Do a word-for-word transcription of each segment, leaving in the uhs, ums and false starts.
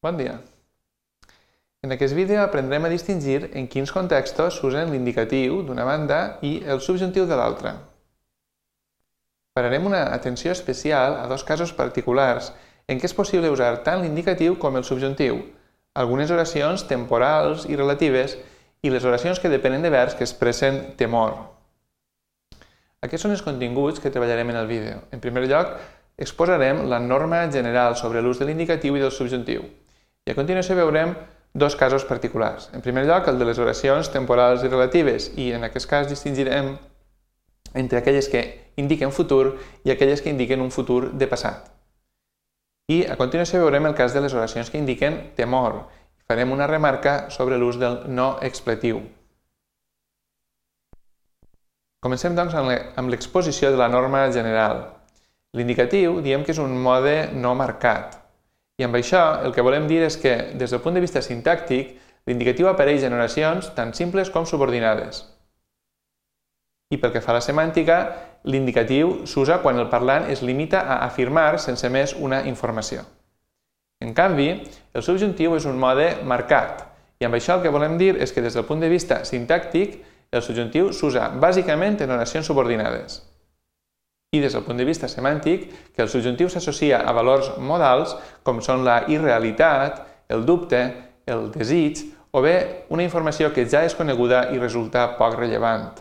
Bon dia. En aquest vídeo aprendrem a distingir en quins contextos s'usen l'indicatiu d'una banda i el subjuntiu de l'altra. Pararem una atenció especial a dos casos particulars en què és possible usar tant l'indicatiu com el subjuntiu, algunes oracions temporals i relatives i les oracions que depenen de verbs que expressen temor. Aquests són els continguts que treballarem en el vídeo. En primer lloc, exposarem la norma general sobre l'ús de l'indicatiu i del subjuntiu. I a continuació veurem dos casos particulars. En primer lloc, el de les oracions temporals i relatives, i en aquest cas distingirem entre aquelles que indiquen futur i aquelles que indiquen un futur de passat. I a continuació veurem el cas de les oracions que indiquen temor. Farem una remarca sobre l'ús del no expletiu. Comencem, doncs, amb l'exposició de la norma general. L'indicatiu diem que és un mode no marcat. I amb això el que volem dir és que, des del punt de vista sintàctic, l'indicatiu apareix en oracions tant simples com subordinades. I pel que fa a la semàntica, l'indicatiu s'usa quan el parlant es limita a afirmar sense més una informació. En canvi, el subjuntiu és un mode marcat, i amb això el que volem dir és que des del punt de vista sintàctic, el subjuntiu s'usa bàsicament en oracions subordinades. I des del punt de vista semàntic, que el subjuntiu s'associa a valors modals com són la irrealitat, el dubte, el desig o bé una informació que ja és coneguda i resulta poc rellevant.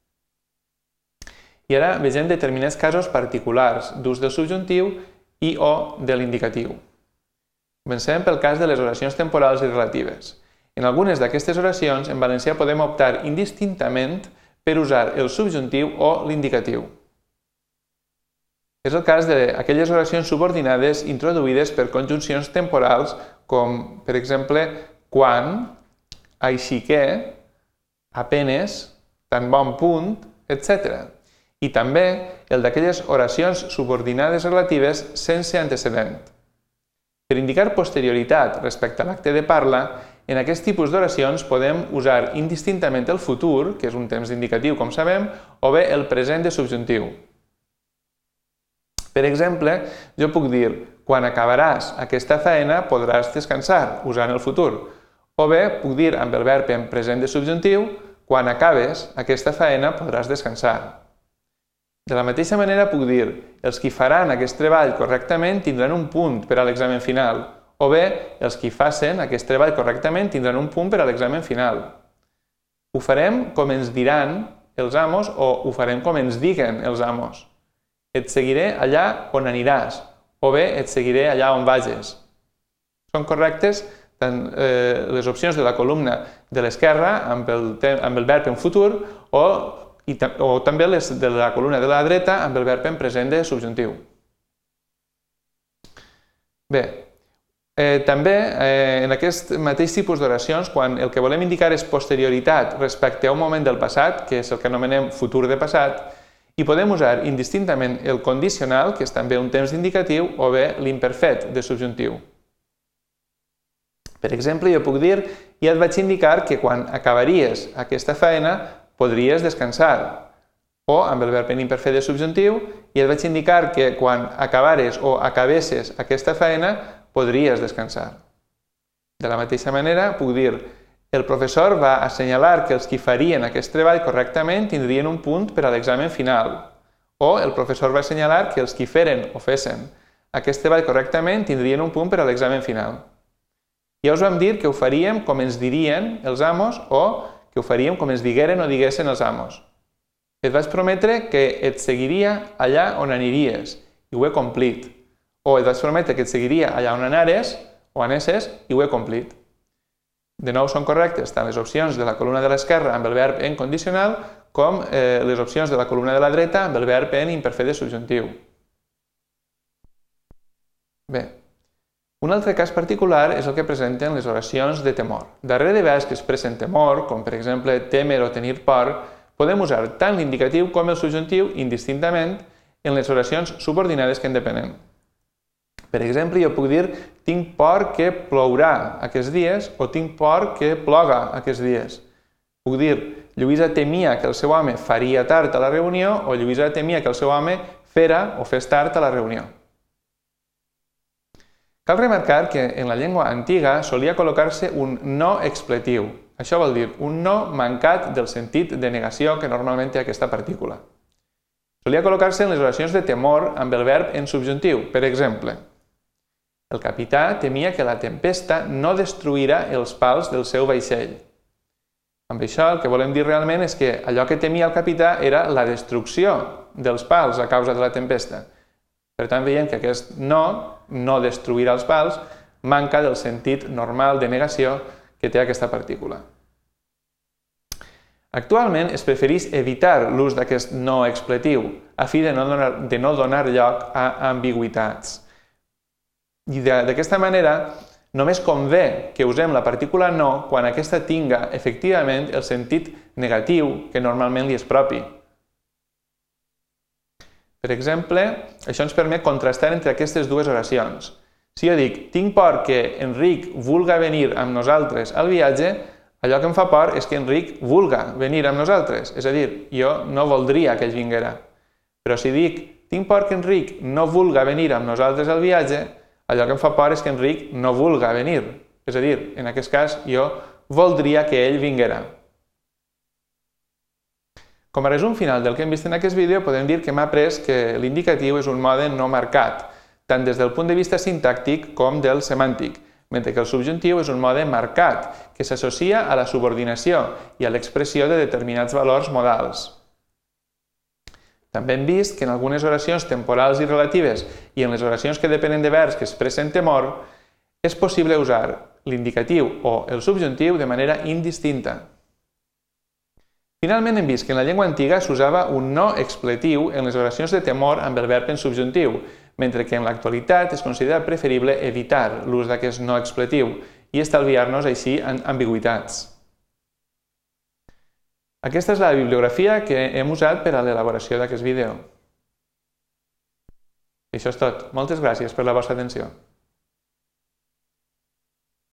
I ara vegem determinats casos particulars d'ús del subjuntiu i o de l'indicatiu. Comencem pel cas de les oracions temporals i relatives. En algunes d'aquestes oracions, en valencià podem optar indistintament per usar el subjuntiu o l'indicatiu. És el cas d'aquelles oracions subordinades introduïdes per conjuncions temporals com, per exemple, quan, així que, apenes, tan bon punt, etcètera. I també el d'aquelles oracions subordinades relatives sense antecedent. Per indicar posterioritat respecte a l'acte de parla, en aquest tipus d'oracions podem usar indistintament el futur, que és un temps indicatiu, com sabem, o bé el present de subjuntiu. Per exemple, jo puc dir, quan acabaràs aquesta feina podràs descansar, usant el futur. O bé puc dir amb el verb en present de subjuntiu, quan acabes aquesta feina podràs descansar. De la mateixa manera puc dir, els qui faran aquest treball correctament tindran un punt per a l'examen final. O bé, els qui facin aquest treball correctament tindran un punt per a l'examen final. Ho farem com ens diran els amos o ho farem com ens diguen els amos. Et seguiré allà on aniràs, o bé et seguiré allà on vages. Són correctes tant les opcions de la columna de l'esquerra amb el verb en futur o també les de la columna de la dreta amb el verb en present de subjuntiu. Bé, també en aquest mateix tipus d'oracions, quan el que volem indicar és posterioritat respecte a un moment del passat, que és el que anomenem futur de passat, i podem usar indistintament el condicional, que és també un temps indicatiu, o bé l'imperfet de subjuntiu. Per exemple, jo puc dir, ja et vaig indicar que quan acabaries aquesta feina podries descansar. O, amb el verb en imperfet de subjuntiu, ja et vaig indicar que quan acabares o acabessis aquesta feina podries descansar. De la mateixa manera, puc dir, el professor va assenyalar que els qui farien aquest treball correctament tindrien un punt per a l'examen final. O el professor va assenyalar que els qui feren o fessin aquest treball correctament tindrien un punt per a l'examen final. Ja us vam dir que ho faríem com ens dirien els amos o que ho faríem com ens digueren o diguessin els amos. Et vaig prometre que et seguiria allà on aniries i ho he complit. O et vaig prometre que et seguiria allà on anares o anessis i ho he complit. De nou són correctes tant les opcions de la columna de l'esquerra amb el verb en condicional com les opcions de la columna de la dreta amb el verb en imperfet de subjuntiu. Bé, un altre cas particular és el que presenten les oracions de temor. Darrere de verbs que expressen temor, com per exemple temer o tenir por, podem usar tant l'indicatiu com el subjuntiu indistintament en les oracions subordinades que en depenen. Per exemple, jo puc dir, tinc por que plourà aquests dies o tinc por que ploga aquests dies. Puc dir, Lluïsa temia que el seu home faria tard a la reunió o Lluïsa temia que el seu home fera o fes tard a la reunió. Cal remarcar que en la llengua antiga solia col·locar-se un no expletiu. Això vol dir un no mancat del sentit de negació que normalment té aquesta partícula. Solia col·locar-se en les oracions de temor amb el verb en subjuntiu. Per exemple, el capità temia que la tempesta no destruirà els pals del seu vaixell. Amb això el que volem dir realment és que allò que temia el capità era la destrucció dels pals a causa de la tempesta. Per tant, veiem que aquest no, no destruirà els pals, manca del sentit normal de negació que té aquesta partícula. Actualment es prefereix evitar l'ús d'aquest no expletiu a fi de no donar, de no donar lloc a ambigüitats. I d'aquesta manera només convé que usem la partícula no quan aquesta tinga efectivament el sentit negatiu que normalment li és propi. Per exemple, això ens permet contrastar entre aquestes dues oracions. Si jo dic, tinc por que Enric vulga venir amb nosaltres al viatge, allò que em fa por és que Enric vulga venir amb nosaltres. És a dir, jo no voldria que ell vinguera. Però si dic, tinc por que Enric no vulga venir amb nosaltres al viatge, allò que em fa por és que Enric no vulga venir. És a dir, en aquest cas, jo voldria que ell vinguera. Com a resum final del que hem vist en aquest vídeo, podem dir que hem après que l'indicatiu és un mode no marcat, tant des del punt de vista sintàctic com del semàntic, mentre que el subjuntiu és un mode marcat, que s'associa a la subordinació i a l'expressió de determinats valors modals. També hem vist que en algunes oracions temporals i relatives i en les oracions que depenen de verbs que expressen temor, és possible usar l'indicatiu o el subjuntiu de manera indistinta. Finalment hem vist que en la llengua antiga s'usava un no expletiu en les oracions de temor amb el verb en subjuntiu, mentre que en l'actualitat es considera preferible evitar l'ús d'aquest no expletiu i estalviar-nos així ambigüitats. Aquesta és la bibliografia que hem usat per a l'elaboració d'aquest vídeo. I això és tot. Moltes gràcies per la vostra atenció.